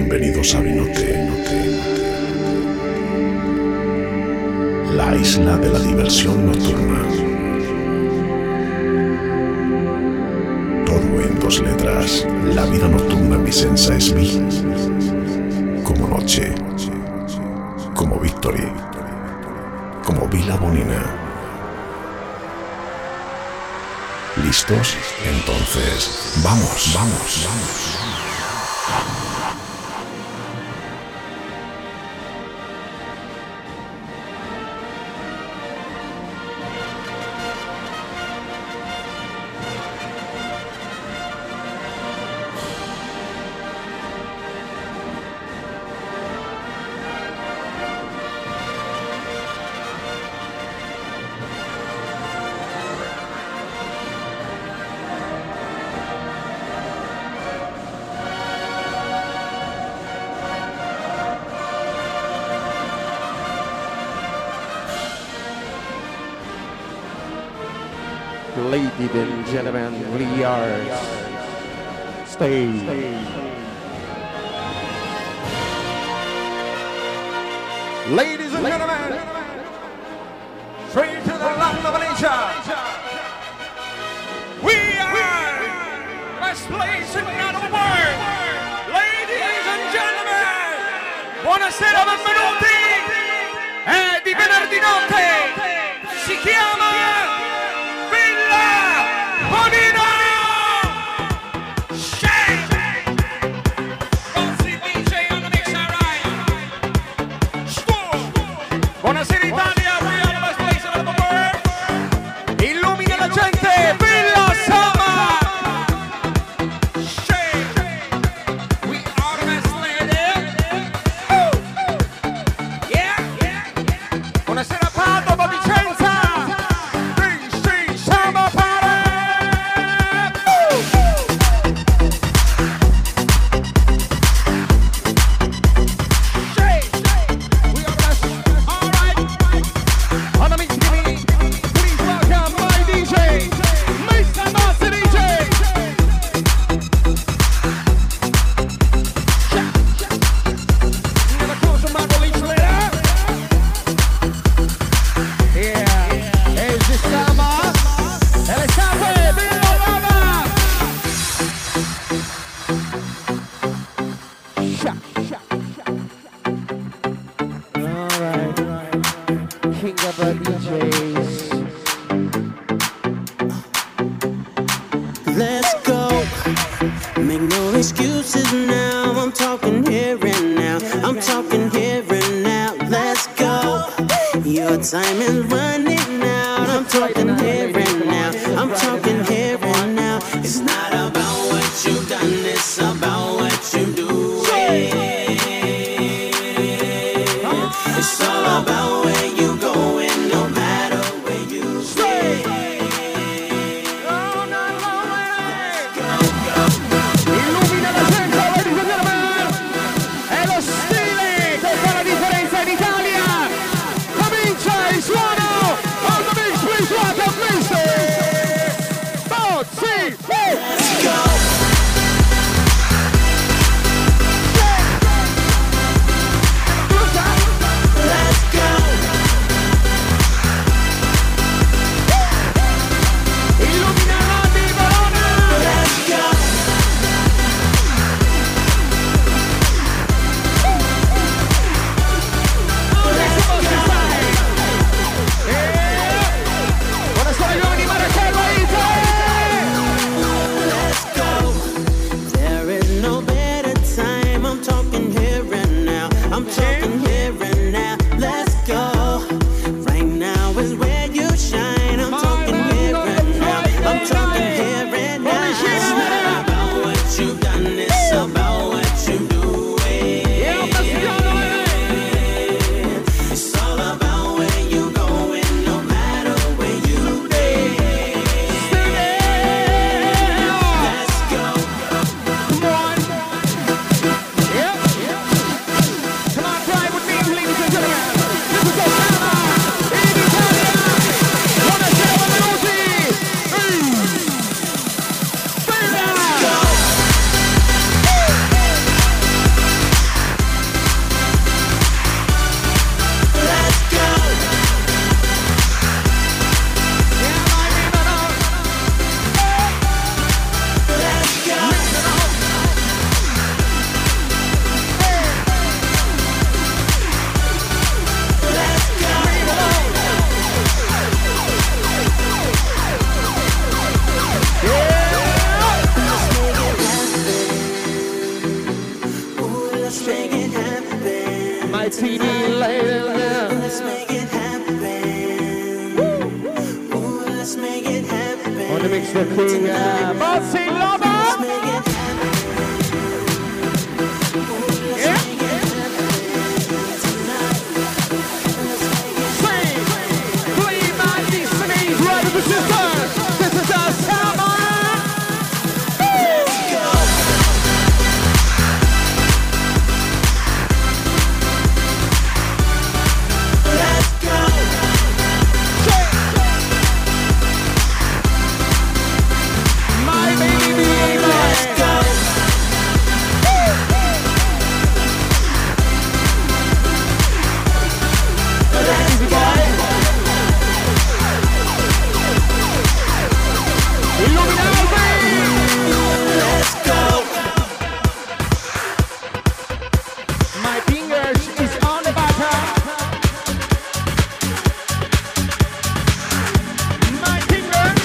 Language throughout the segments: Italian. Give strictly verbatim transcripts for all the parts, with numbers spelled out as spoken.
Bienvenidos a Vinote, la isla de la diversión nocturna. Todo en dos letras. La vida nocturna vicenza es vi, como noche, como victory, como Vila Bonina. ¿Listos? Entonces, vamos, vamos, vamos. Ladies and gentlemen, we are stage. Ladies and gentlemen, straight to the land of Malaysia. We are best place in the world. Ladies and gentlemen, buonasera, benvenuti. È di venerdì notte, si chiama Bonino! Shake! Rossi D J on the mix, alright. Buonasera Italia, we are the best place in the world. Illumina la gente, Villa Sama! Shake! We are the best lady. Yeah, yeah. Buonasera Padova, Vicenza! Time is running out. I'm talking here and now. I'm talking here and now. It's not about what you've done, it's about what you do. It's all about where you going, no matter where you stay. Illumina la gente, ladies and gentlemen. È lo stile che fa la differenza in Italia. Il suono on the mix, please welcome, please the king, uh, Bossy Lover. Yeah. Sing, play my destiny, brothers and sisters. This is our summer. Let's go. Let's go. My baby, let's go. Let's go. Illuminati. Let's go. My fingers is on the button. My fingers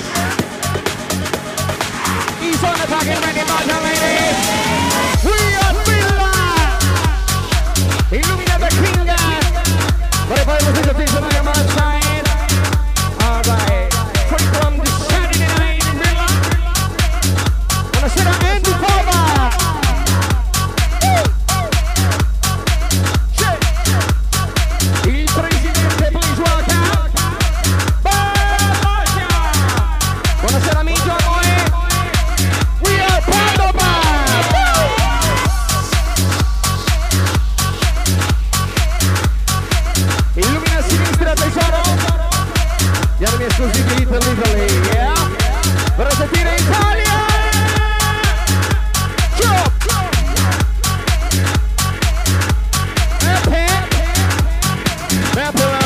is on the fucking ready button, ladies. We are Villa. Illumina the king. What if I was in the vision on my side? Alright. Straight from the Saturday night in Villa. Buonasera Andy Fava. Il presidente, please welcome. Bacia. Buonasera amici, amore. We are Padova. Illumina a sinistra, tesoro. Diamo gli esclusivi Little Italy, yeah? Per sentire Italia. Chop. Epe. Epera.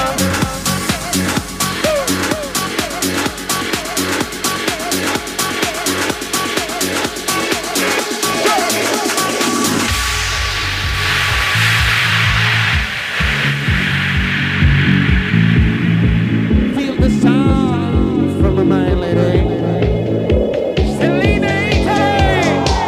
Feel the sound from a mind lady. Selena Italy.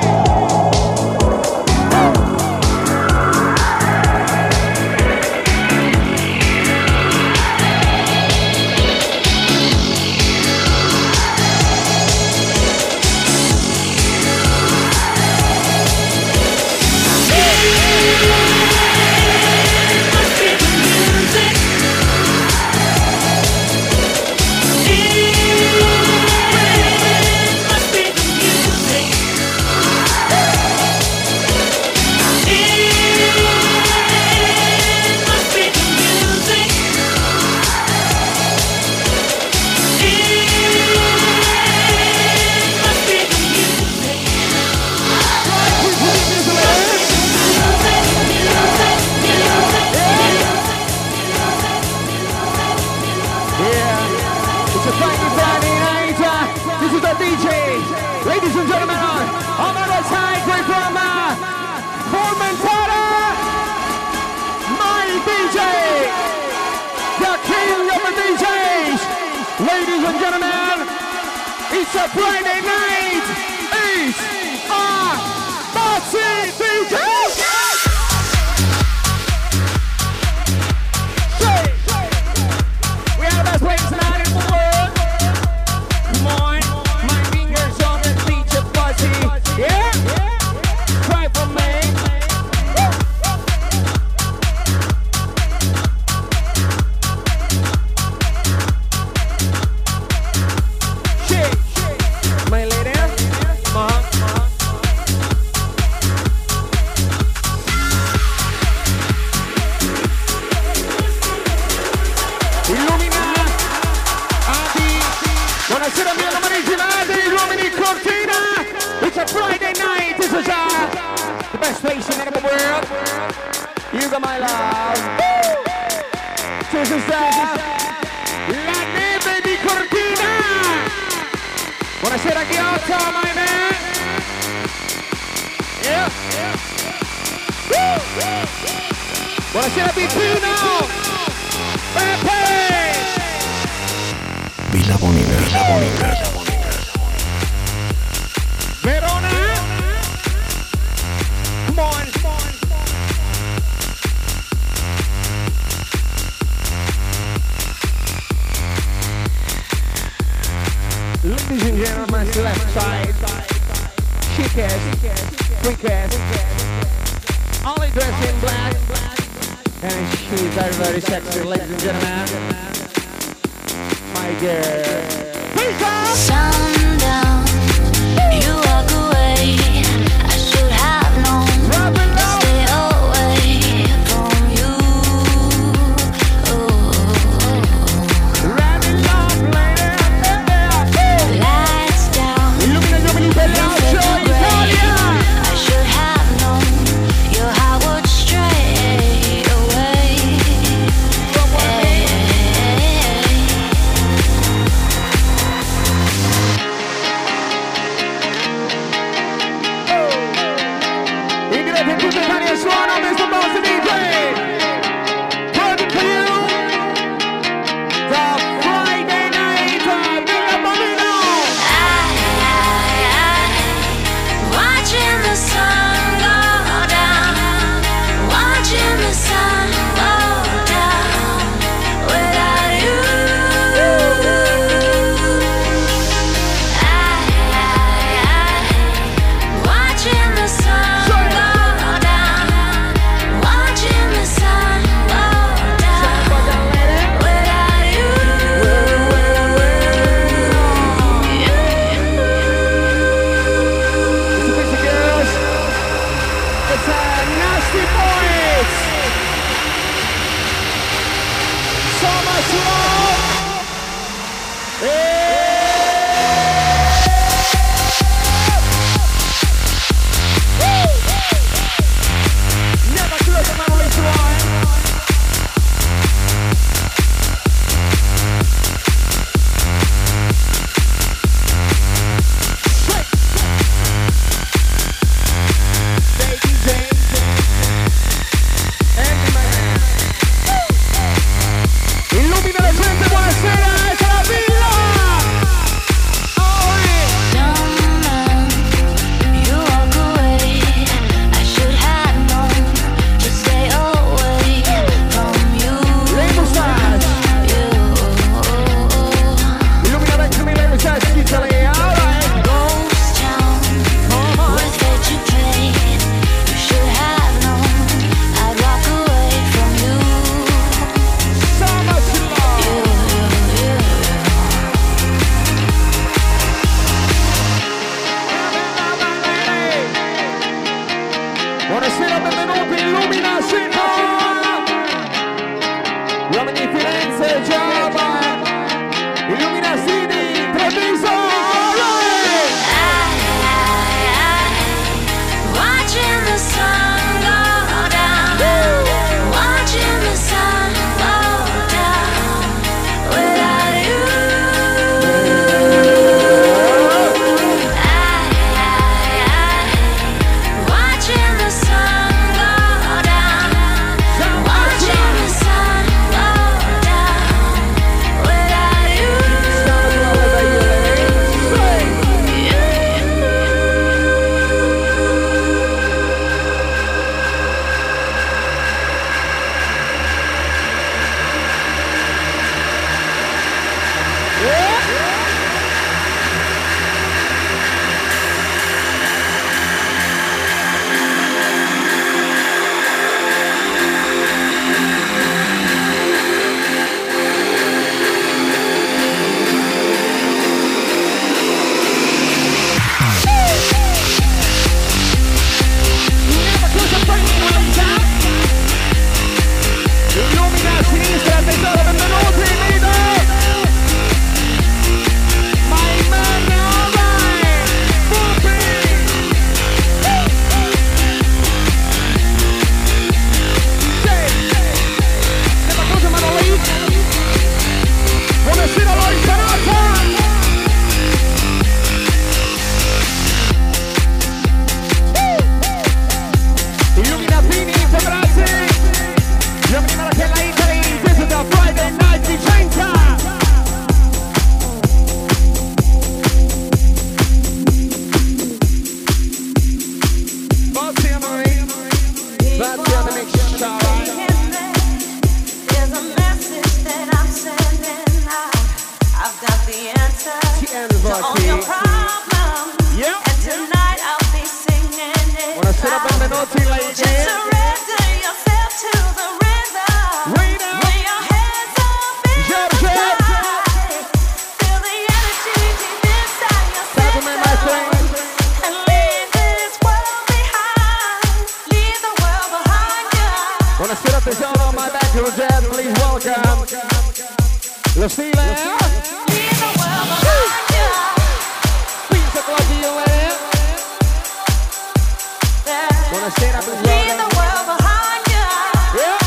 Yeah, it's a Friday, Friday night. Uh, this is the D J. Ladies and gentlemen, on the other side, right from uh, Formentara, my D J, the king of the D Js. Ladies and gentlemen, it's a Friday night. It's a Bossy D J. We are the best players tonight in the world. Come on, my fingers on the beach of Bossy. Yeah? Try for me. Shake, my lady. Come on. Illumina Adi. Buonasera mia amareggiata, gli uomini Cortina. It's a Friday night. This is uh, the best station in the world. You got my love. This is uh, La Neve di Cortina. Buonasera Ghiotto, my man. Yeah. Buonasera Pipino. Pepe. Villa Bonina, Villa Bonina. Verona. Come on. Ladies and gentlemen, side. Chicest, quickest, only dressed in black. And she's very, very sexy, ladies and gentlemen. My girl. Pizza! Sundown, you walk away. I should have known to stay away from you. Lights down, I should have known your heart would stray away. Ingredienti tutti italiani e suona mister Boss D J. Perfect for you. The Friday night of Villa Bonino. Watching the sun go down, watching the sun go down without you. Watching the sun go down, watching the sun go down without you. It's a pizza girls. It's a nasty boys. So much love. Hey. Never close the memory to one. Baby James Andy Man. Illumina la gente, buonasera, è la villa. Oh, Someone, you walk away. I should have known to stay away from you. Le mustache. Illumina vecchio mille mustache, Italy, alright. Ghost town, with it to play. You should have known I'd walk away from you. So much love. You, you, you. Buonasera, benvenuti, Illumina City. Uomini di Firenze, Giova. Illumina City, Treviso. Alright. Watching the sun go down, watching the sun go down without you. Watching the sun go down, naughty lady. Just surrender yourself to the rhythm. Rhythm. Lay your hands up in Jump, the jump. sky. Feel the energy deep inside your Talk to me, my system. friend. And leave this world behind. Leave the world behind you. Buonasera tesoro, my back to jet, please welcome. Lo stile. Leave the world behind you. Pizza Claudio, eh? Yeah. Buonasera, please Leave welcome. the world behind you. Yeah.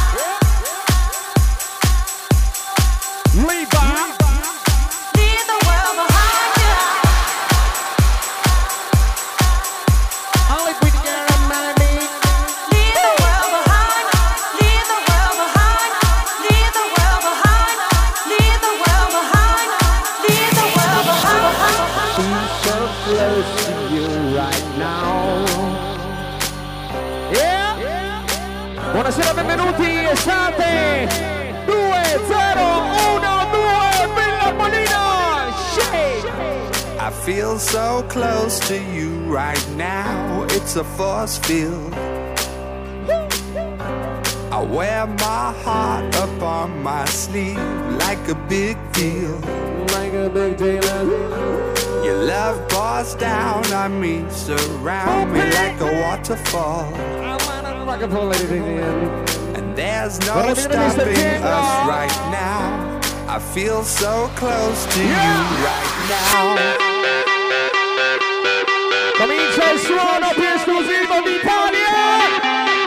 Levi. Leave the world behind you. Only pretty girl in my beat. Leave the world behind. Leave the world behind. Leave the world behind. Leave the world behind. Leave the world behind. So close to you right now. Yeah. Buonasera, benvenuti, estate due zero uno due Villa Bonina. Shake. I feel so close to you right now. It's a force field. I wear my heart up on my sleeve like a big deal. Like a big deal. Your love pours down on me, surround me like a waterfall. I wanna rock and roll, ladies and gentlemen. And there's no Well, stopping Mister us Tingle. right now. I feel so close to you right now. Comincia il suono più esclusivo d'Italia.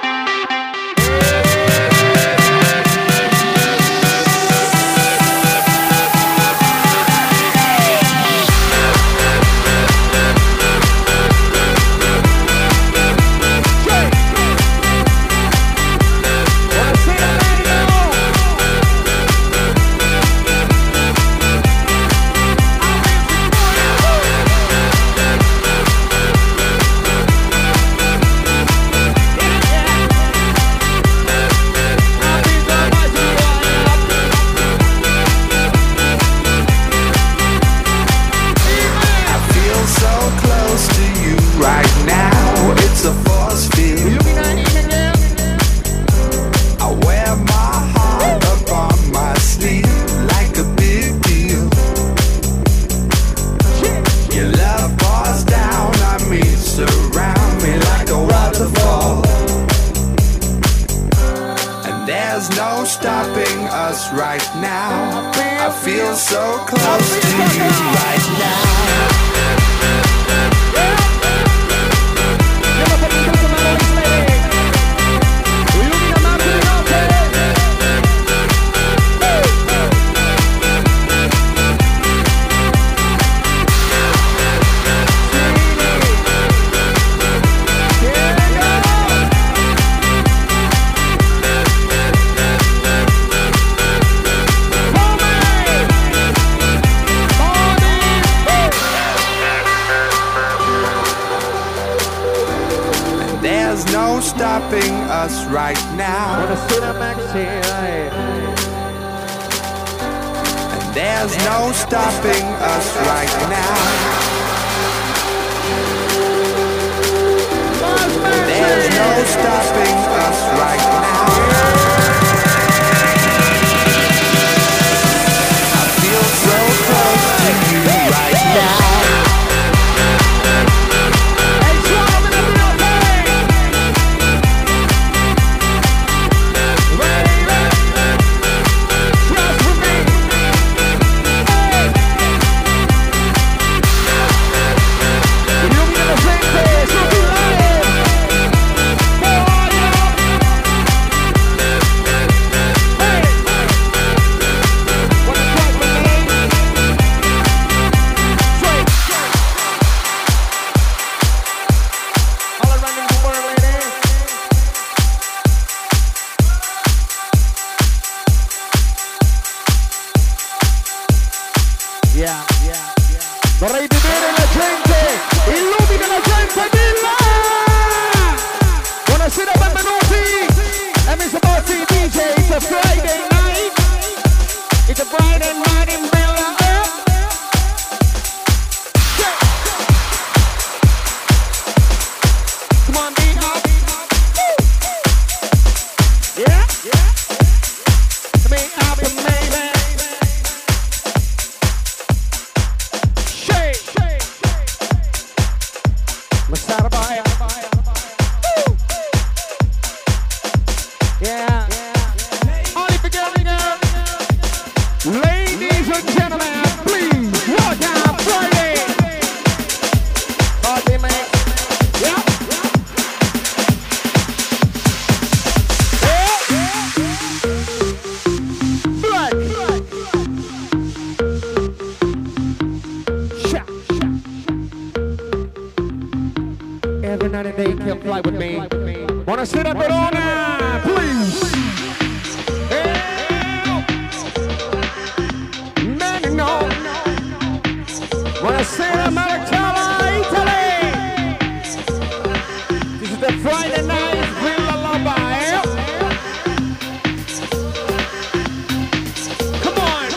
Right now, it's a force field. I wear my heart up on my sleeve like a big deal. Your love pours down on me, surround me like a waterfall. And there's no stopping us right now. I feel so close to you right now. Stopping us right now. And there's no stopping us right now. There's no stopping us right now. I feel so close to you right now. Yeah. Only for getting up. Ladies and gentlemen, please welcome Friday. Party man. Yeah. Blood. Shot. Every night and day you can fly with me. Wanna sit up Verona, please. Man, no. Wanna sit up Maracala, Italy. This is the Friday night Villa Lomba. Come on.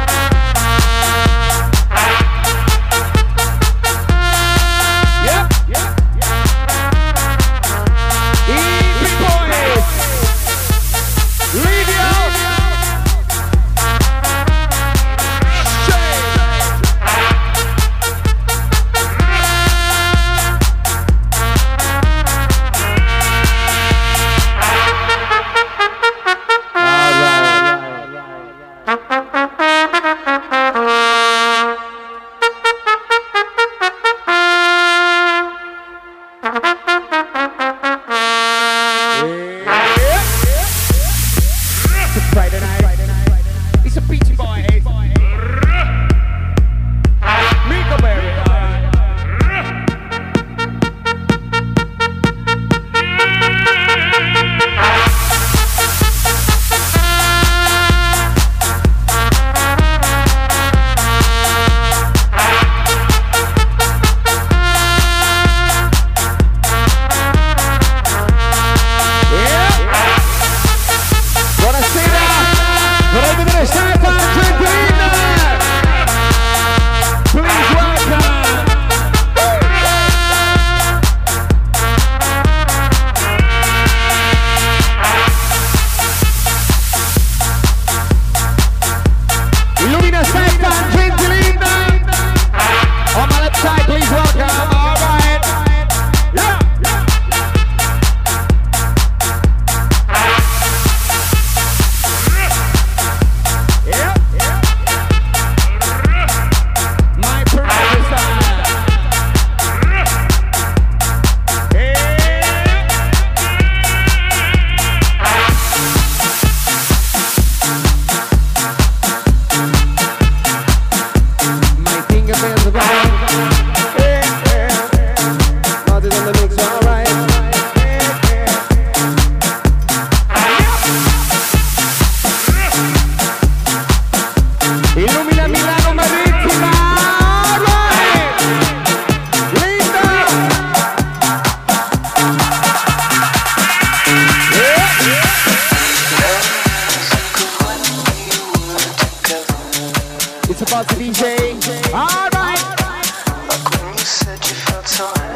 Yeah.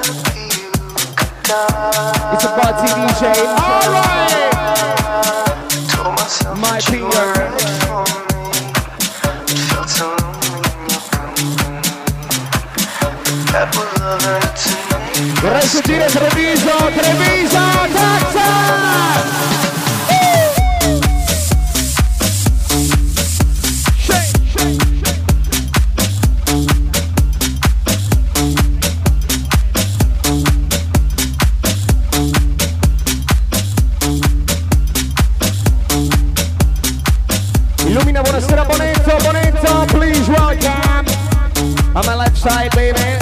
It's a party D J. All right. My finger. Vorrei sentire Treviso, Treviso, Texas! Illumina, buonasera Bonetto, Bonetto, please welcome. On my left side, baby.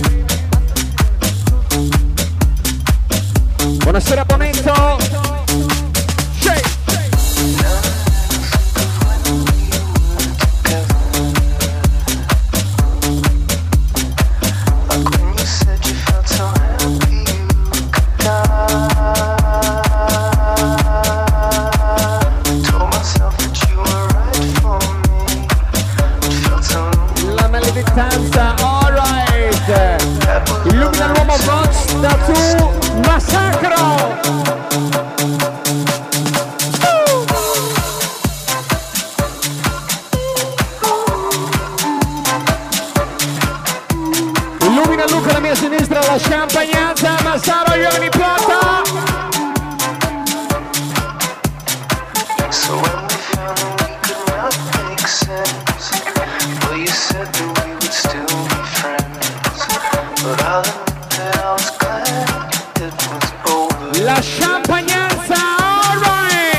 Buonasera Bonetto. Shake. La maledettanza, alright. Illumina l'uomo Vox da tu. Massacro! Illumina Luca alla mia sinistra, la champagnanza, Massaro Ioni Plata! So when we found that we could not make sense, well you said that we would still be friends, but I'll admit that I was glad. La champagnanza, alright!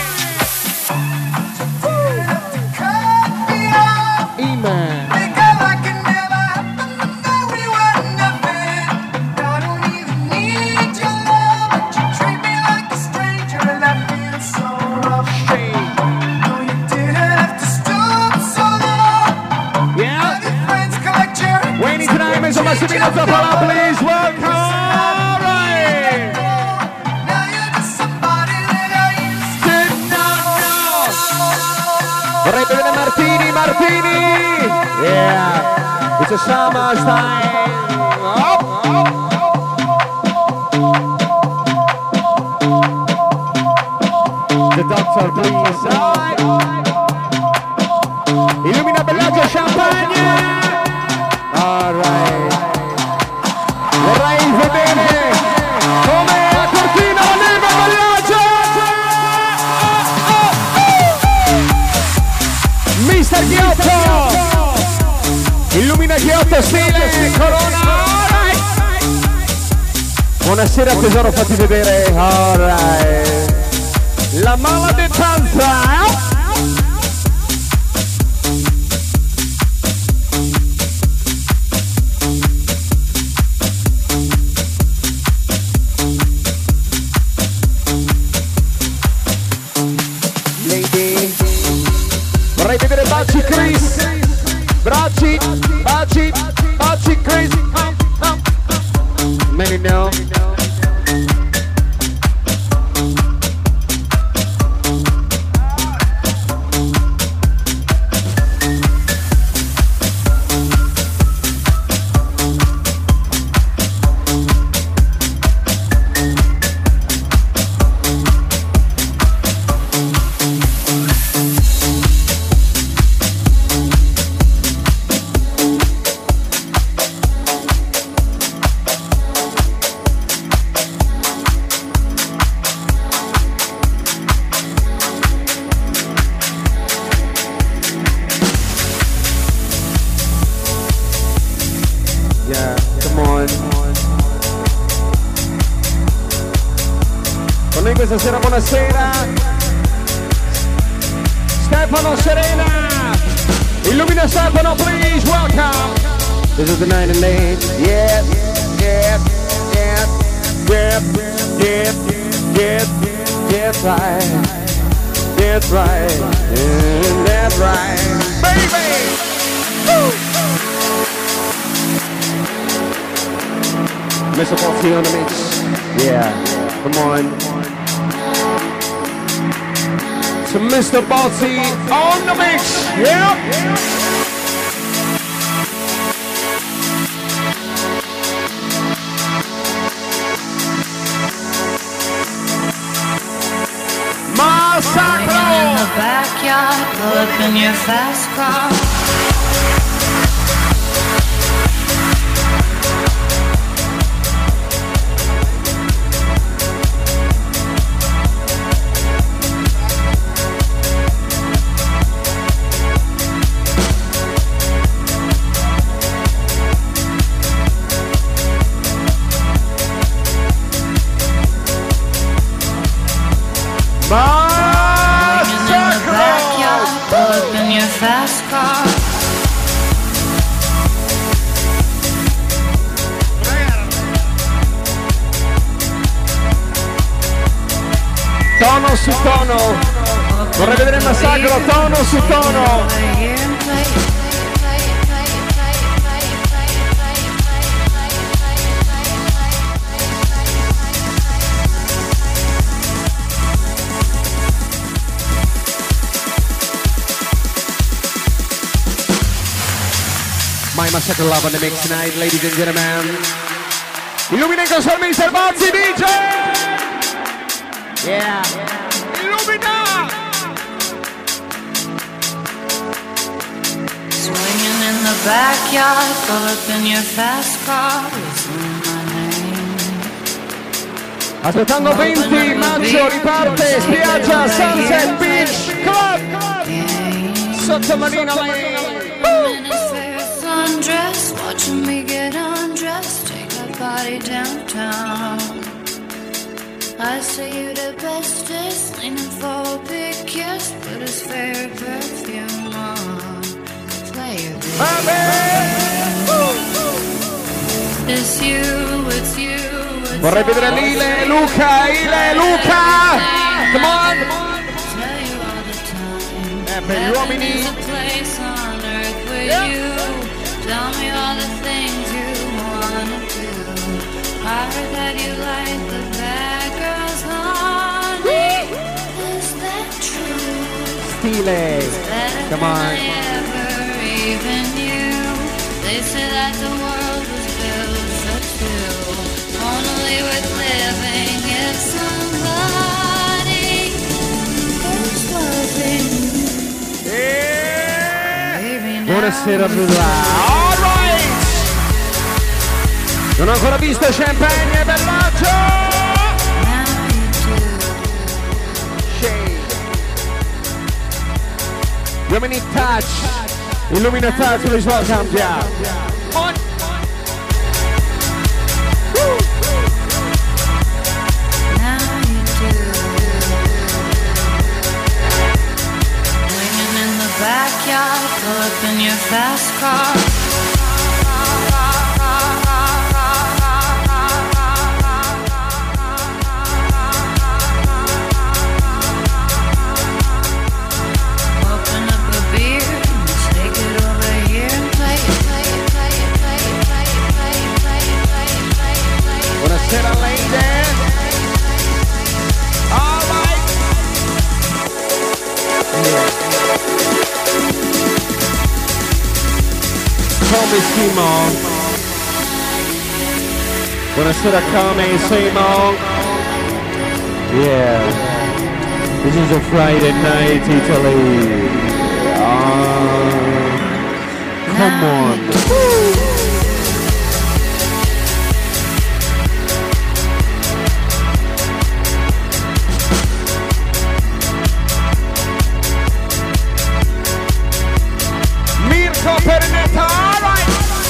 Amen. Yeah. Wayne tonight, Mister Massimino Zapala, please welcome. Vorrei vedere Martini, Martini! Yeah! It's a summer time! Oh, oh. The doctor, please! Right. Illumina Bellagio Champagne! Alright! Vorrei vedere come a Cortina la neve Bellagio! mister Ghiotto! Illumina Ghiotto, stile Corona! Alright. Buonasera tesoro, fatti vedere! Alright! La maledettanza! Lady! Vorrei vedere Baci Chris, Baci, Baci, Baci Chris, oh, oh. Many know. Questa sera buonasera Stefano Serena, illumina Stefano, please welcome. This is the night and day. Yeah, yeah, yeah, yeah, yeah, yeah, yeah, right, that's right, yeah, that's right, baby. Woo! Mister Bossy on the mix. Yeah, come on. To Mister Bossy on the mix. Yep. backyard, pull up in your fast car. Fast car. Tono su tono. Vorrei vedere il massacro, tono su tono. My Massacre Love on the mix tonight, ladies and gentlemen. Illumina con Sir mister Bozzi D J! Yeah! Illumina! Swinging in the backyard, pull up in your fast car, listen my name. Aspettando venti maggio riparte spiaggia Sunset Beach Club! Sotto Marina Lane! Undressed, watching me get undressed, take that body downtown. I say you the bestest, leaning for a big kiss, put his favorite perfume on, play your baby. It's you, it's you, it's Vorrei vedere Lile e Luca, Ile e Luca! Come on! tell you all the time. Eh, per gli uomini. There's a place on earth with Yeah. you. Tell me all the things you wanna do. I heard that you like the bad girls, honey. Is that true? Stile! Better Come than on. I ever even knew. They say that the world was built for two. Only worth living if somebody is loving. Baby, now Buonasera Bella! Alright! Non ho ancora visto Champagne e Bellagio! now you do. Shade. Uomini Touch! Illumina Touch, please welcome, yeah! On! Woo! Now you do. Swinging in the backyard, pull up in your fast car. Open up a beer, take it over here and play it, play it, play it, play it, play it, play it, play it, play it, play it, play it. Buonasera ladies! Alright! Come Simo! Buonasera come Simo! Yeah! This is a Friday night Italy! Ah, come on! Mirko Pernetta, alright!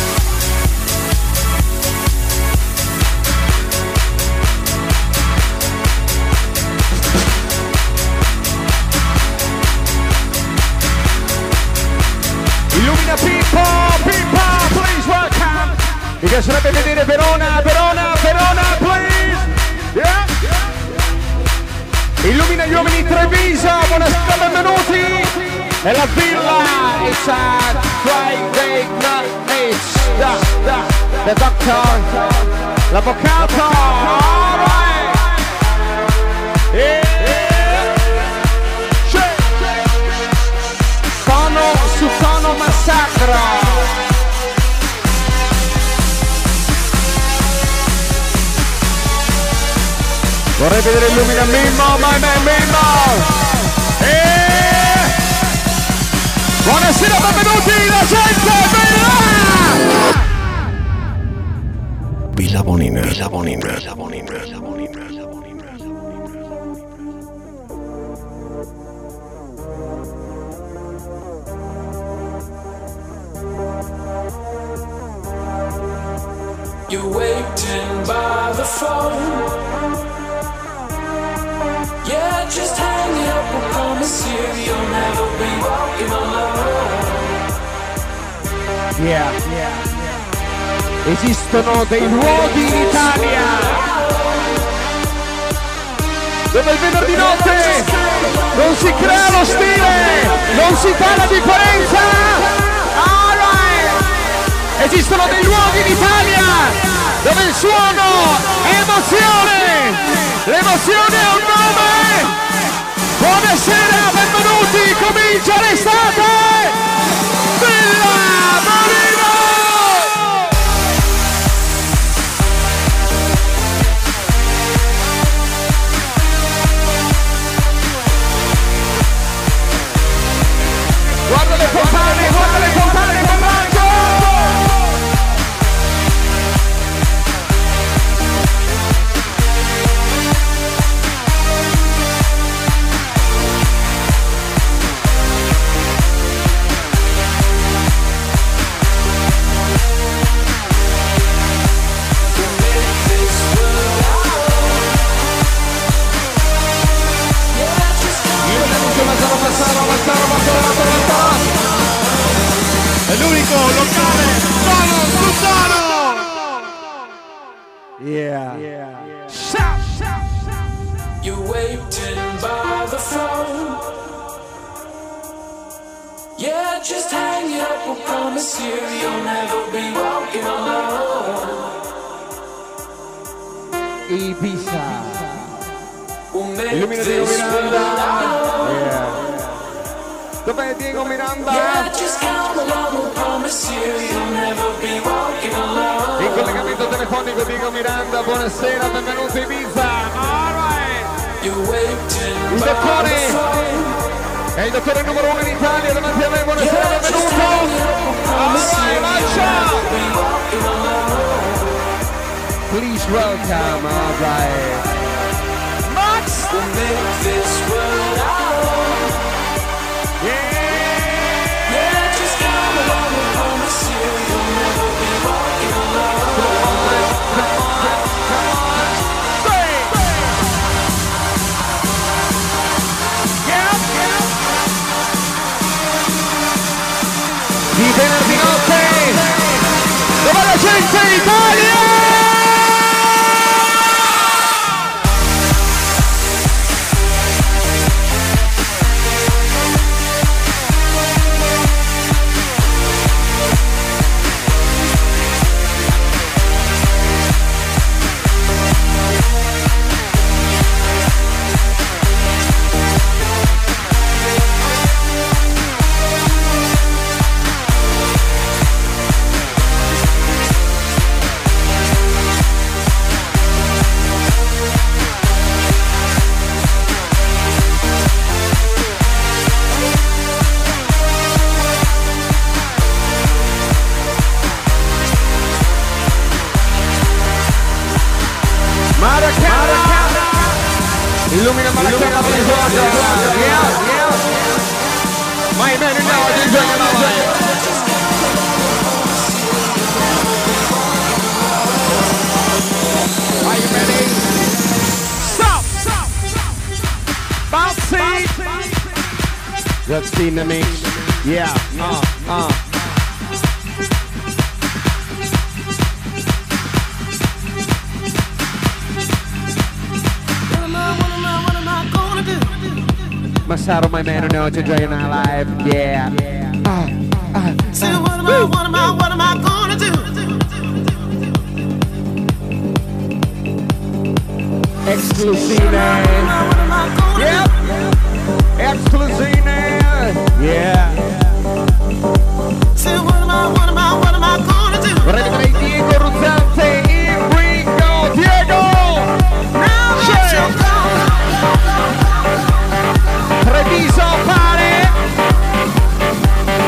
Illumina Pippo, Pippo, please welcome! Mi piacerebbe vedere Verona, Verona, Verona, please! Yeah! Illumina gli uomini Treviso, buonasera, benvenuti! E la villa, it's a Friday night, it's the, the, the doctor, l'avvocato, alright! Yeah! Tono su tono massacro! Vorrei vedere Illumina Mimmo, my man Mimmo! Yeah! Buonasera, benvenuti, la gente bella! Villa Bonina, Villa Bonina, Villa Bonina, Villa Bonina. You're waiting by the phone. Yeah, just hang it up, I promise you you'll never be walking alone. Yeah, yeah. Esistono dei luoghi in Italia dove il venerdì notte non si crea lo stile, non si fa la differenza. Alright. Esistono dei luoghi in Italia dove il suono è emozione, l'emozione ha un nome. Buonasera, benvenuti, comincia l'estate! Villa Bonina! Guarda le fontane, guarda le fontane di Pombraccio! È l'unico locale solo su solo. Yeah, yeah, yeah. You're waiting by the phone. Yeah, just hang it up, I promise you you'll never be walking alone. Ibiza. We'll make Illumina Diego this Miranda. world. Yeah. Dov'è Diego Miranda? Yeah, just count along, I promise you you'll never be walking alone. In collegamento telefonico Diego Miranda, buonasera, benvenuto Ibiza. Alright. You're waiting Il by dottore the phone. è il dottore numero uno in Italia, davanti a me, buonasera, Yeah, just benvenuto. hang it up, I promise you Alright, you'll lancia. never be walking alone. Please welcome, alright. Max. We'll make this world our own. Yeah, just come along, I promise you you'll never be walking alone. Di venerdì notte, dove la gente in Italia! Illumina Maracana, please welcome. Yeah, yeah. My man in now, D J in our life. Are you ready? Stop! Bouncy! That's in the mix. Yeah, uh, uh. Masaru, my man, know to join our live. Yeah. Uh, uh, Say, what am I, what am I, what am I gonna do? Exclusive. Yep. Exclusive. Yeah. Say, what am I, what am I, what am I gonna do? Vorrei vedere Diego Ruzzante in Ringo. Diego! Now that you're gone. Treviso pare.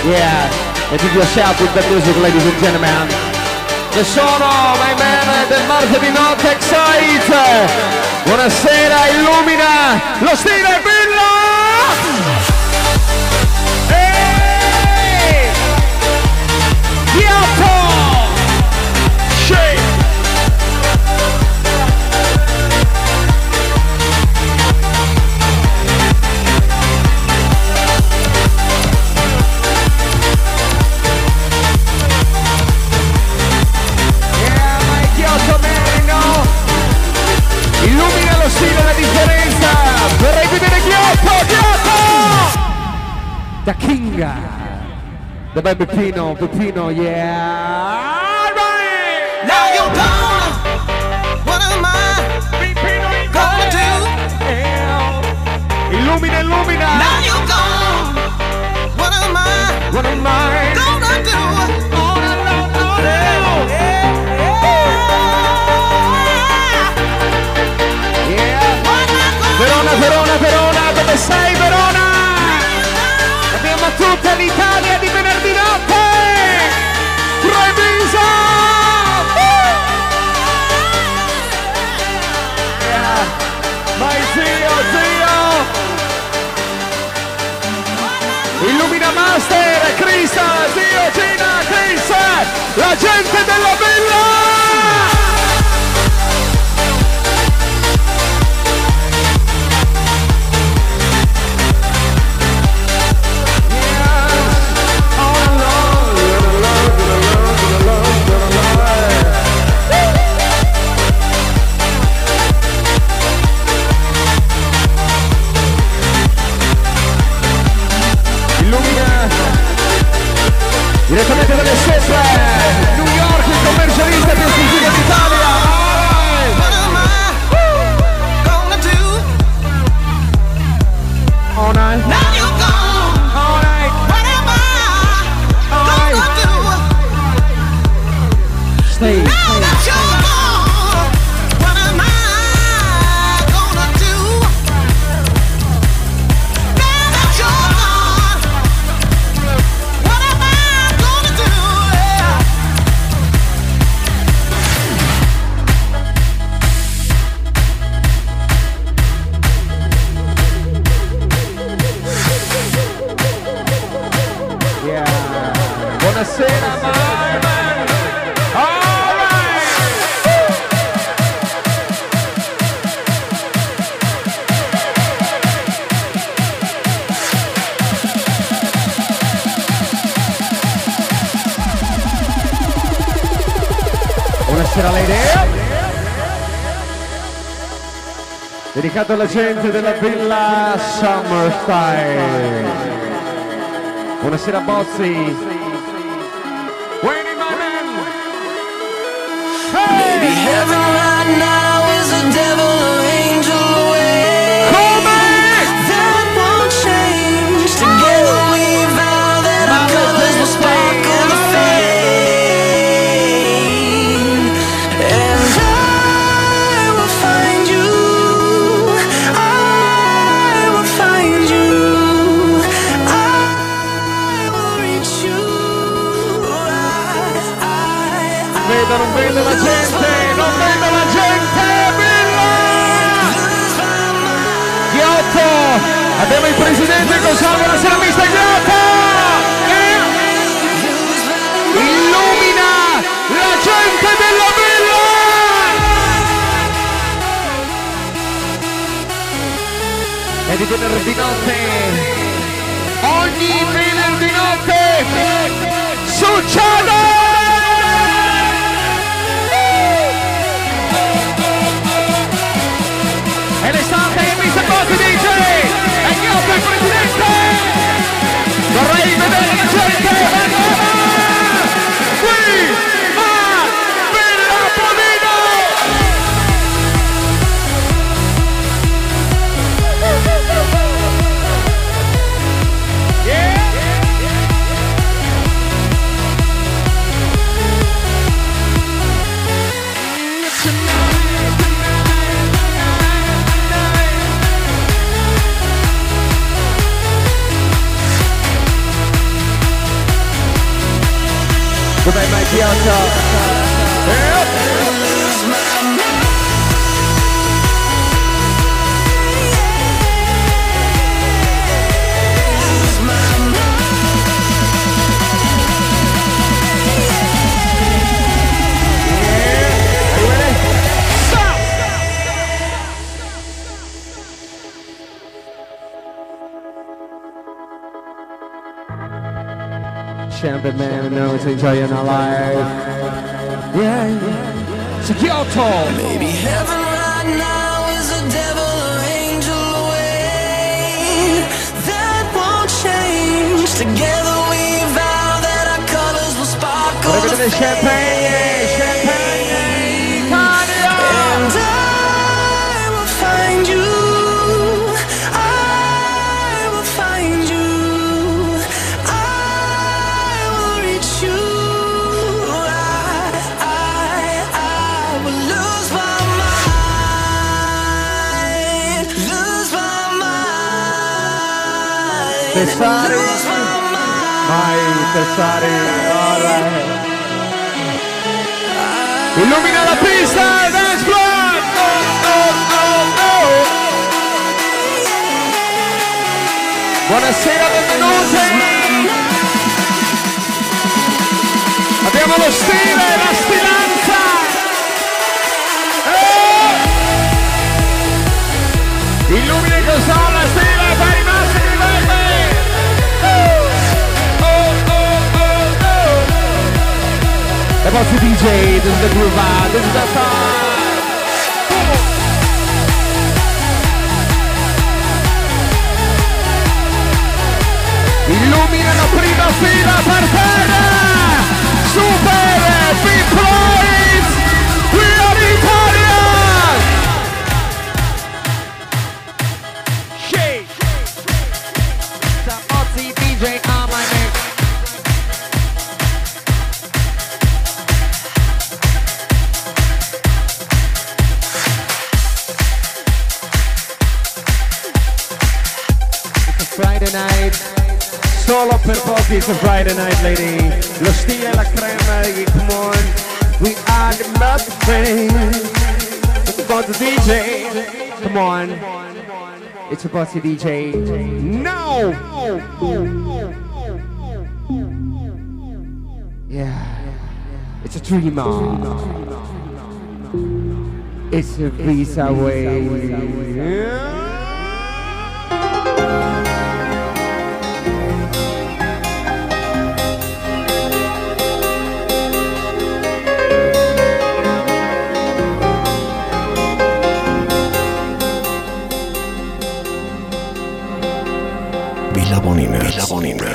Yeah, and give yourself with the music, ladies and gentlemen. Che sono, my man, del martedì notte Excite. Buonasera, illumina lo stile Villa. Ehi! Ghiotto! Shake! Illumina lo stile, la differenza. Vorrei vedere Ghiotto, Ghiotto! Da Kinga, da Bebe Peppino, Peppino, yeah. Right. Now you're gone. What am I Peppino in gonna do? do? Illumina, illumina. Now you're gone. What am I What am I gonna do? Oh, no, no, no, no. Verona, Verona, Verona, dove sei Verona? Abbiamo tutta l'Italia di venerdì notte! Treviso! Yeah. Vai zio, zio! Illumina Master, Crista, zio, Gina, Chris! La gente della villa! Direttamente dalle sopra, New York, il commercialista più sentito d'Italia. What am I gonna do? All night. Now you're gone. All night. What am I gonna do? Stay. Now that you're gone, what am I gonna do? Now that you're gone, what am I gonna do? Yeah. Buonasera, my man. All right. Buonasera Lady. Dedicato alla gente della villa Summer Style. Buonasera Bozzi. Wayne, my man. Hey! Maybe heaven right now is a devil or angel away. That won't change. Together we vow that our colors will sparkle the fame. And I will find you. I will find you. I will reach you. I, I, Vedo, non vedo la gente, non vedo la gente, Villa! Ghiotto! Abbiamo il presidente Cosano, buonasera mister Ghiotto! Eh? Illumina la gente della Villa! E di venerdì notte, ogni venerdì notte, succede! E l'estate è mister Bozzi D J e Ghiotto il presidente. Vorrei vedere la gente qui a Villa Bonino. Yeah. Champion man knows enjoying our life. Yeah, yeah. So Kyoto. Maybe heaven right now is a devil or angel away. That won't change. Together we vow that our colors will sparkle. Look at the champagne, champagne, Cardio. And I will find you. I will find you. Tessari, vai Tessari, alright. Illumina la pista, dance floor. Oh, oh, oh, oh. Buonasera, benvenuti. Abbiamo lo stile, la stilanza. Eh. Illumina con la stile per i nostri livelli. About to D J, this is the groove vibe, this is the time. Illuminano prima fila per terra. Super Big Floyd, we are Italian. Shake. Some Ozzy D J on my neck. Friday night, solo per pochi, it's a Friday night, lady. Lo stile e la crema, come on, we are the mother thing. It's about the D J, come on, it's about the D J. No! Yeah, it's a dreamer. It's a visa way. Yeah. Villa Bonina, Villa Bonina.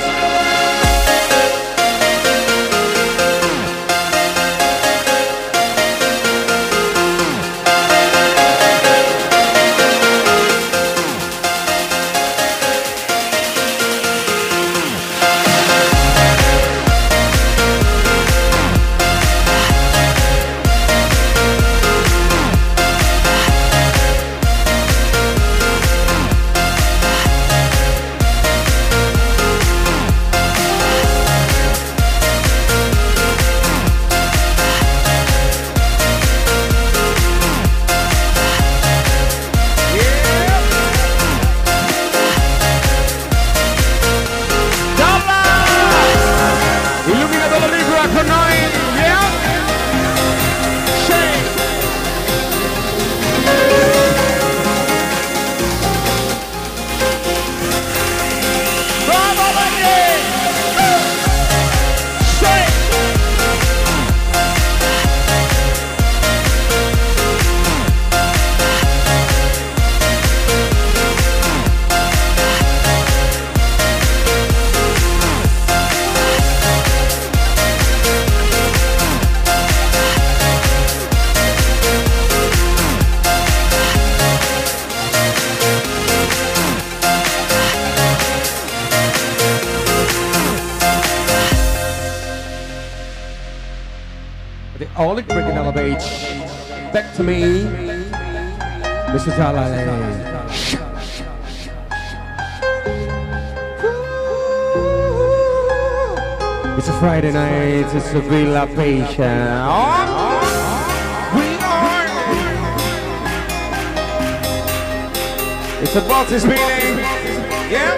Oleg bringing Ella Beach back to me, Mister Jalale. It's a Friday night, it's a Villa Patient. Oh, we are. It's a boxy spinning. Yeah.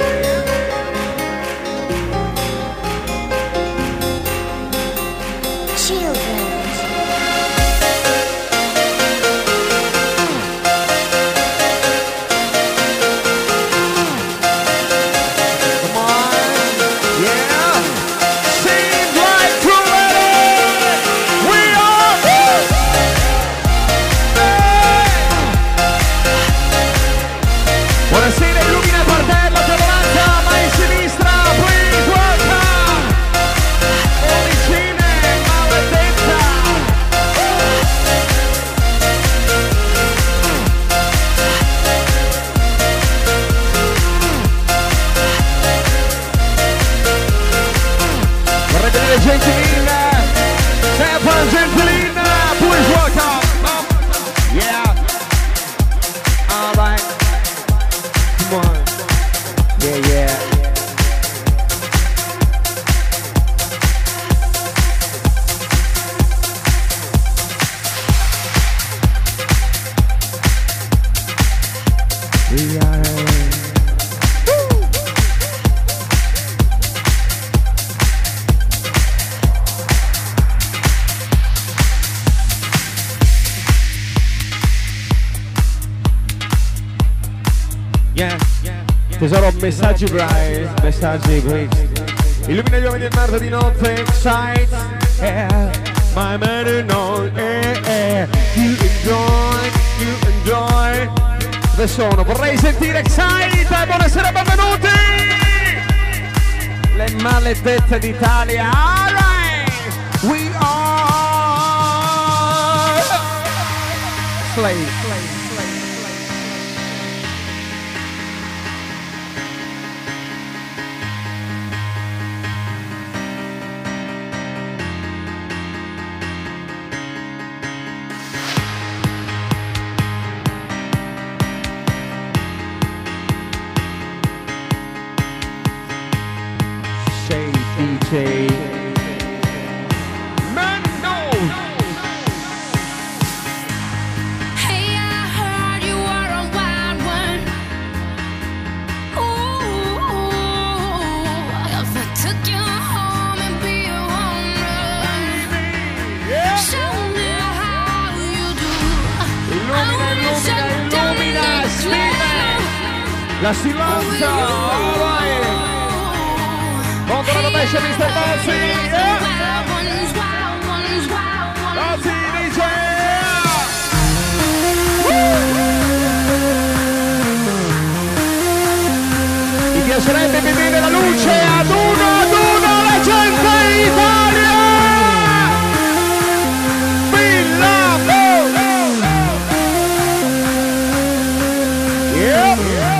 Buonasera, illumina il parterre, te lo lancia, ma in sinistra, please welcome Origine Maledetta. Vorrei vedere Gentilina, Stefan Gentilina, please welcome. Yeah, all right. Come on. Yeah, yeah. We are. Yeah. Tesoro, messaggi bravi, messaggi bravi. Illumina gli uomini del marzo di notte, excite, yeah. My man and all, yeah, yeah. You enjoy, you enjoy. Dove sono? Vorrei sentire excite, buonasera, benvenuti! Le maledette d'Italia, alright! We are Slave, slave, slave. Say D J Mando. Hey, I heard you were a wild one. Ooh, if I took you home and be a woman, show me how you do. Illumina, illumina, illumina, scrive la silenza, alright. Contro la rovescia mister Bozzi, yeah. Bozzi dice mi piacerebbe vedere la luce ad uno ad uno la gente Italia. Villa yeah.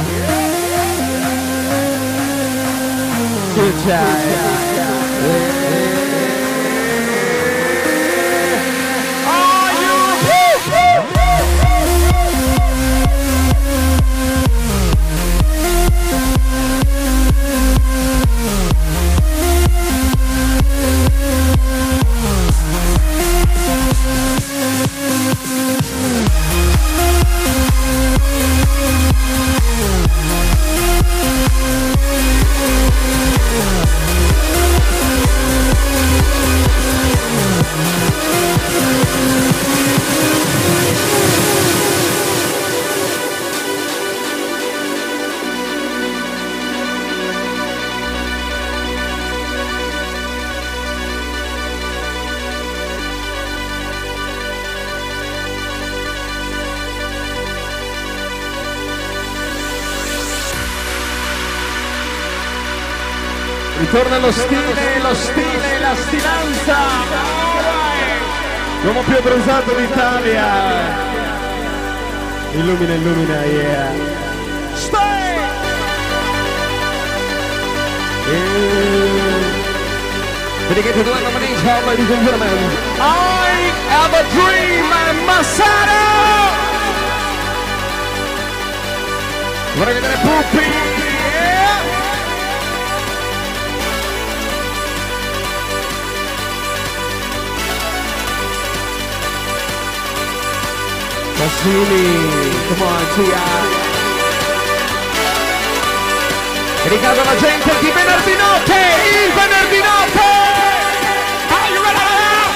Good job. Ritorna lo stile, lo stile, la stilanza. L'uomo più abbronzato d'Italia. Illumina, illumina, yeah. Stay! Dedicated to the nominee, ladies and gentlemen. I have a dream, Massaro! Vorrei vedere Puppi, yeah! Mazzini, come on, Tia. Ricordo la gente di venerdì notte, il venerdì notte! Are you ready?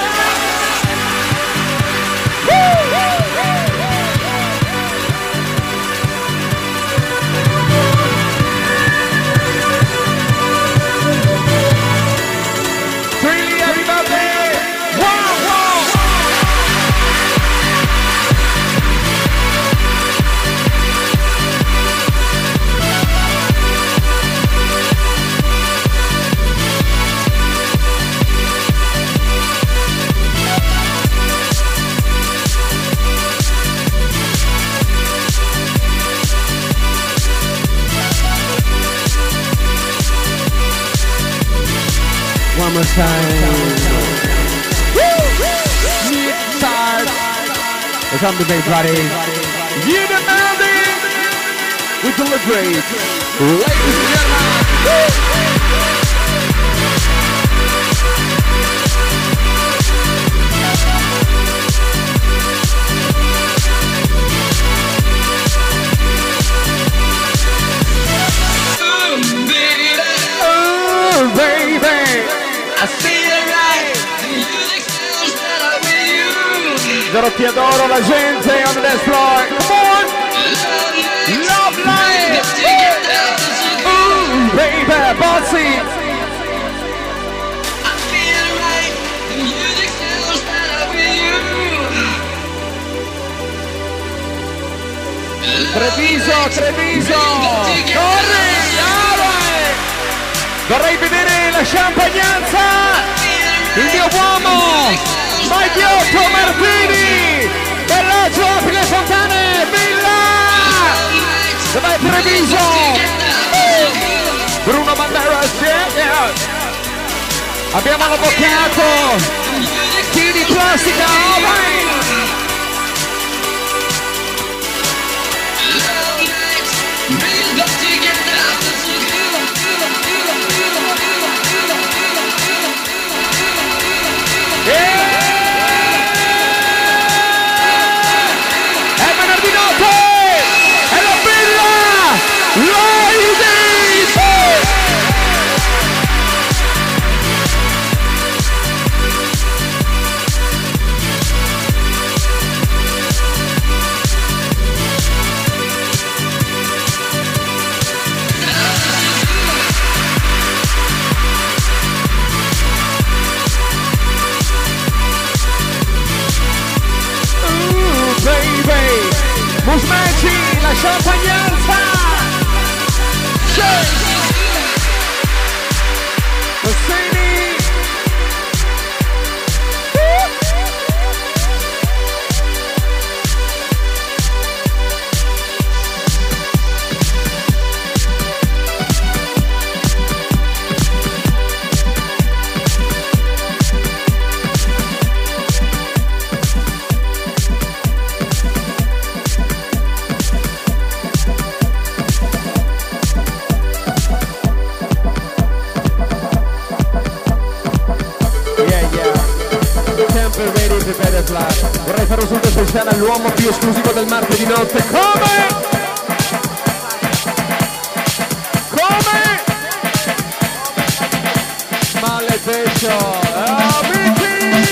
Really, everybody! Wow, wow! One more time. Start. It's on the bass, buddy. You the melody. We deliberate. Ladies and gentlemen. Oh, baby. I see the light, the music sounds better with you. Zero ti adoro, la gente on the dance floor. Come on! Love light! Ooh, baby, bossy! I feel right, the music sounds better with you. Treviso, Treviso! Corri! Vorrei vedere la champagnanza, il mio uomo, Magliotto Martini, Bellagio, apri le fontane, Villa, dov'è Treviso? Bruno Banderas, yeah, yeah. Abbiamo l'avvocato, chi di plastica, oh vai! È venerdì notte! È la Villa! Ladies! Musmeci, la champagnanza! Rossini! Vorrei fare un saluto speciale all'uomo più esclusivo del martedì notte. Come? Come? Maledetto! Amici!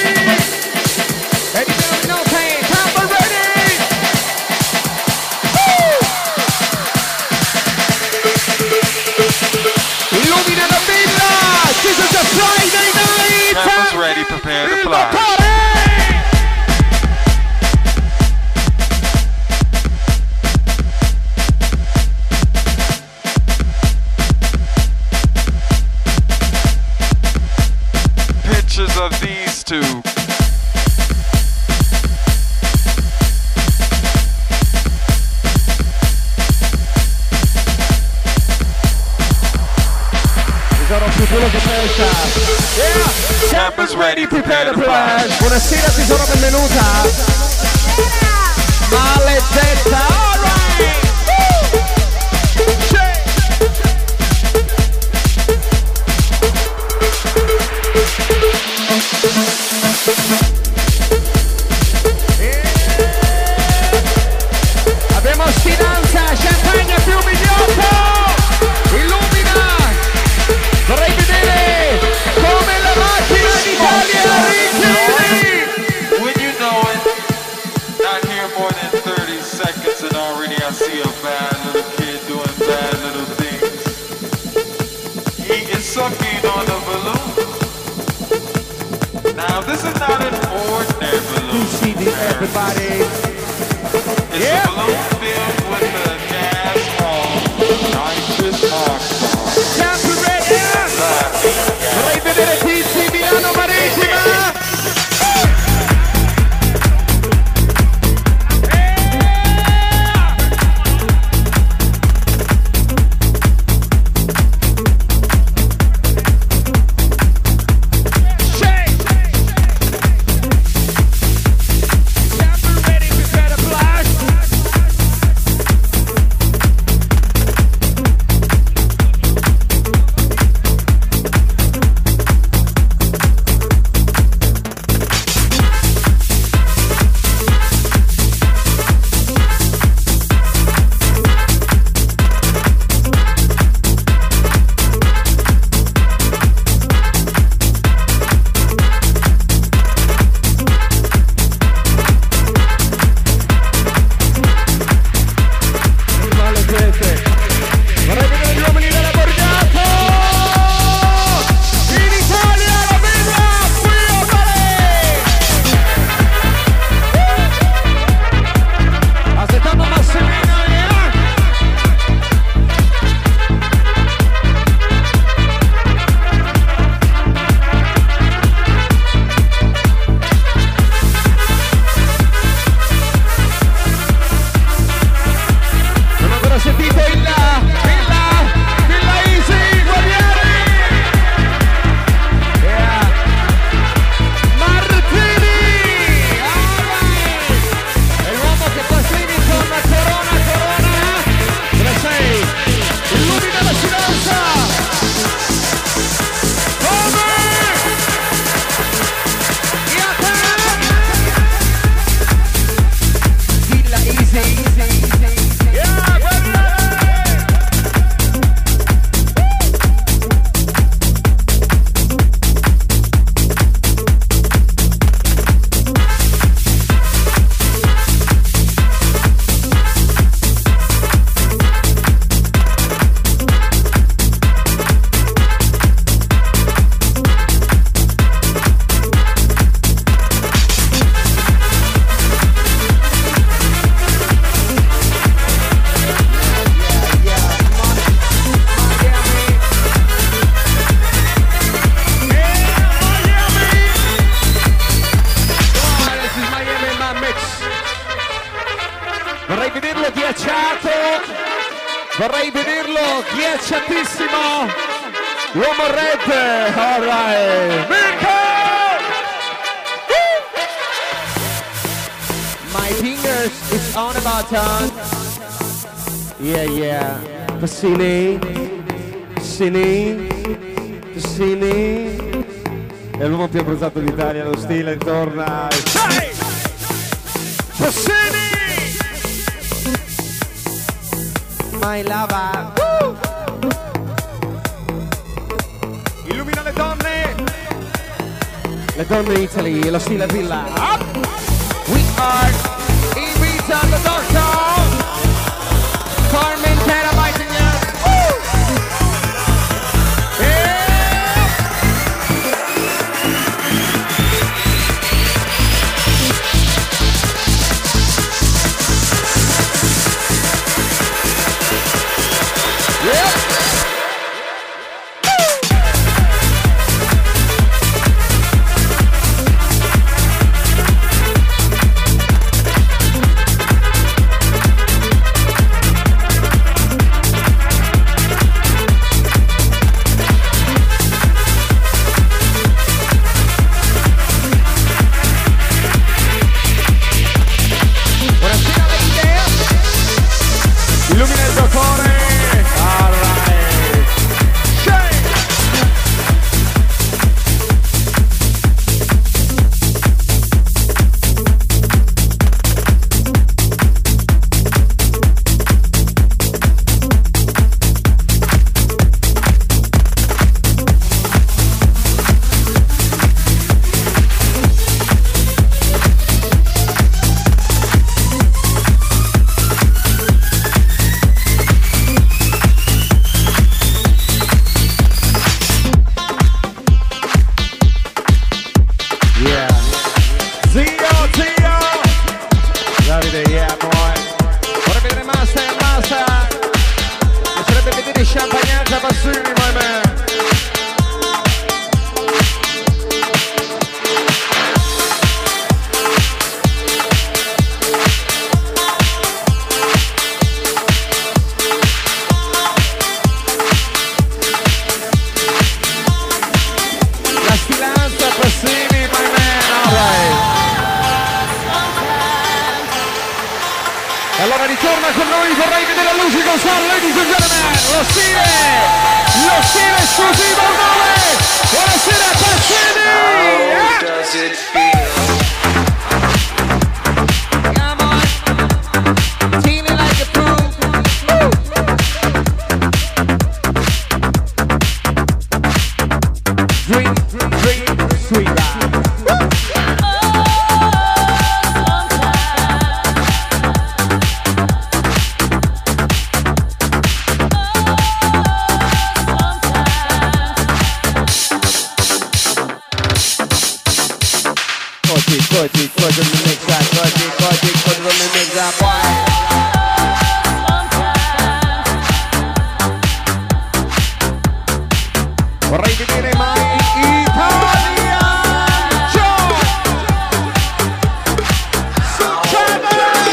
E di venerdì notte, Tampa ready! Illumina la villa! This is a Friday night! Tampa's ready, prepare to fly. Of these two. Quello che pensa. Yeah. Tampa's ready, prepare to fly. Buonasera tesoro, benvenuta. Maledetta. All right. on the balloon. Now this is not an ordinary balloon. C D, everybody. It's Yeah. a balloon filled with the gas called nitrous oxide. Siamo ready? Vorrei vedere Tizi, Milano Marittima. Vorrei vederlo ghiacciatissimo. Uomo red. All right. Mirko! My fingers is on the button. Yeah, yeah. Cassini. Cassini. Cassini. È l'uomo più abbronzato d'Italia, lo stile torna. Cassini! My lava. Woo! Illumina le donne. Le donne in Italy, lo stile villa. Up! We are Ibiza the Doctor. Carmen Terabyte in here. Woo! Yeah! Yeah! di champagnata Passini, my man. La stilanza Passini, my man, alright. E allora ritorna con noi, vorrei vedere la luce con Star, ladies and gentlemen, lo stile, lo stile esclusivo nove, buonasera Passini! How does it feel? Come on, feeling like a fool. Dream, dream, sweet ride. Cody, Cody, Cody, on the mix that, Cody, Cody, Cody, on the mix that, boy. Vorrei vedere mai Italia! Joe! Succede!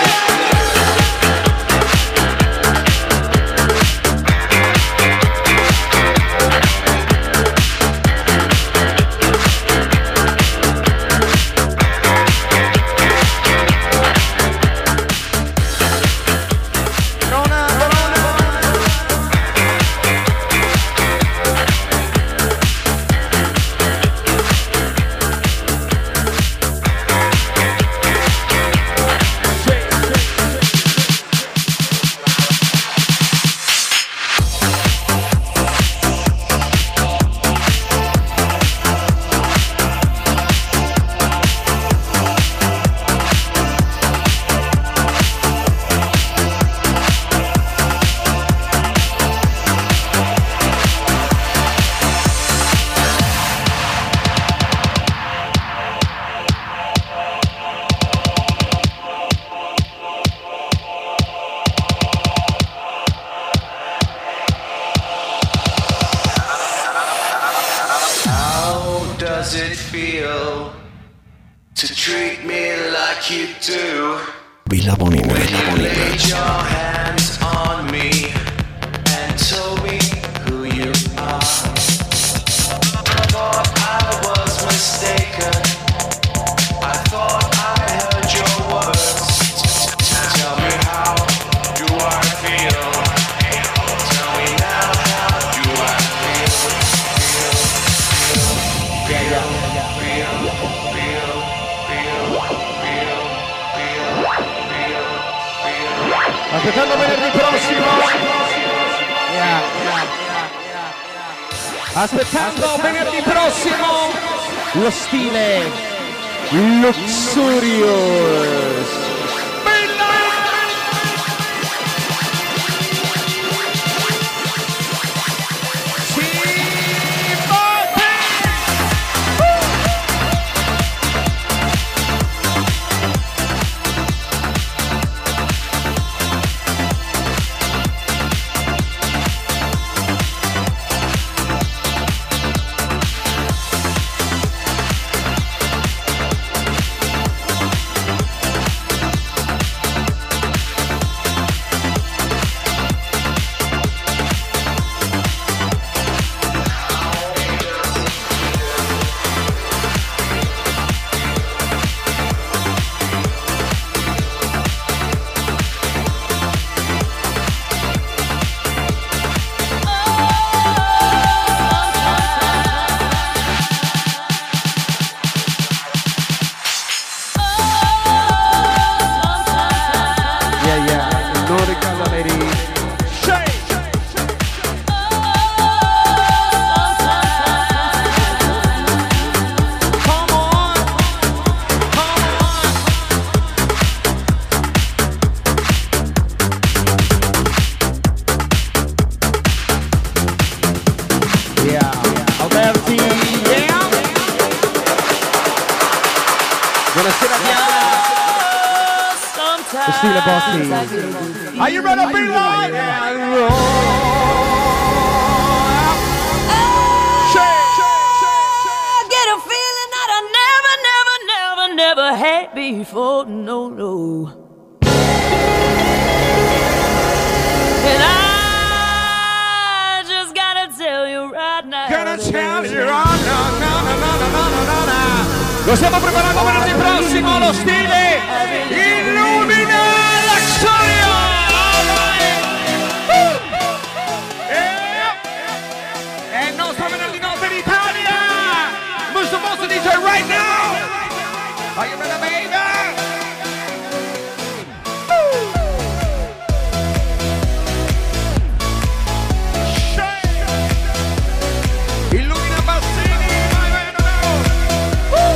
Does it feel to treat me like you do? Villa Bonina, Villa Bonina. Laid your hands on me and told me who you are. I thought I was mistaken. I thought I heard your words. Tell me how do I feel? Tell me now how do I feel? Feel, feel, yeah, yeah, feel, feel, feel, feel, feel, feel, feel. Aspettando venerdì prossimo. Yeah, yeah, yeah. Aspettando venerdì prossimo lo stile Luxurious. Stile Bossy. Are you ready to be live? gonna tell you, oh, no, no, no, no, no, no, no, no. Lo stiamo preparando venerdì prossimo, lo stile illumina l'Axoria. È il nostro venerdì notte d'Italia. Mister Monster D J right now. Are you ready, baby? Illumina Bassini, vai, vai, no, no. Uh.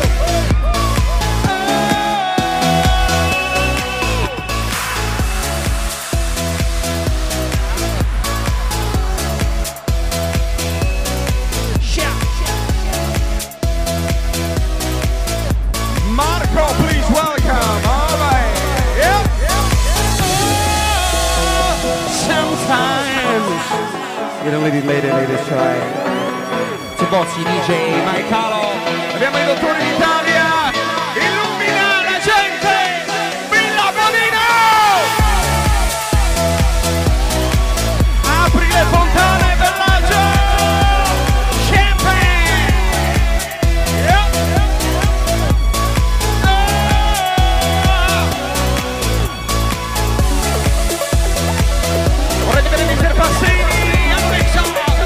Marco, please welcome. All right. Yep. Sometimes You don't lady, lady, ladies try. Bozzi D J, Mike Calo, abbiamo i dottori d'Italia, illumina la gente, Villa Bonino! Apri le fontane, Bellaggio! Champagne! Yep. Oh. Vorrei vedere mister Passini, Alexa!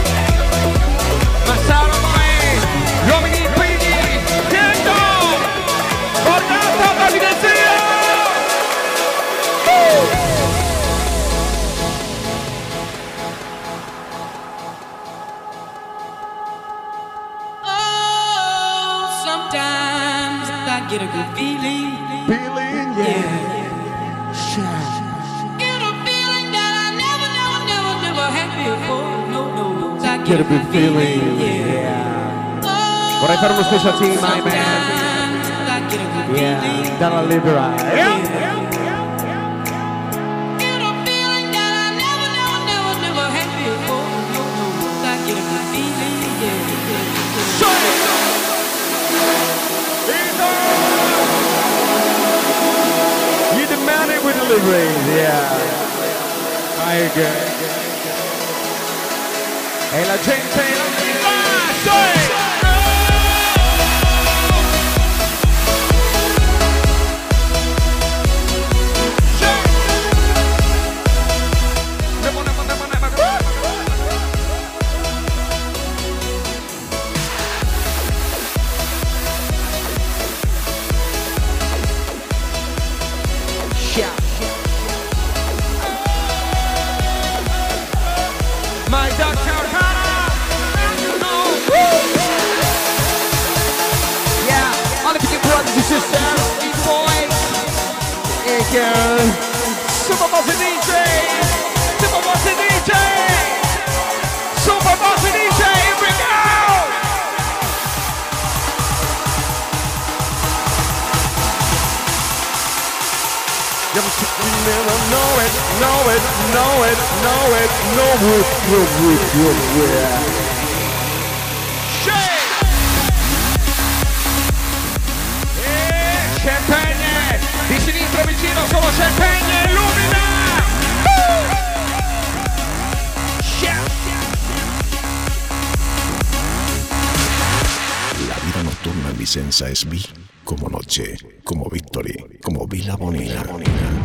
Massaro Mai, gli uomini impigni, Tiendo, guardate la dinastia! Oh, sometimes I get a good feeling. Feeling, yeah. Get a feeling that I never, never, never, never had before. No, no, no. I Get a good feeling, yeah. yeah. Vorrei fare uno special team, my man. Sometimes I get a good Yeah, feeling. dalla Libera. Yeah. Get a feeling that I never, never, never, never had before. No, no, no. I get a good feeling, yeah. You demand it with delivery, yeah. I agree. E la gente non mi lascia! My Doctor Hannah, you know. Yeah, all of you brothers and sisters, big boys, and girls, Super Bossy D J, Super Bossy D J, Super Bossy D J, here we go. You never know it, know it, know it, know it, know it, know it, know it, yeah. E Champagne, di sinistra vicino solo Champagne, illumina! Uh! La vida nocturna en Vicenza es vi como noche, como Victory, como Villa Bonina.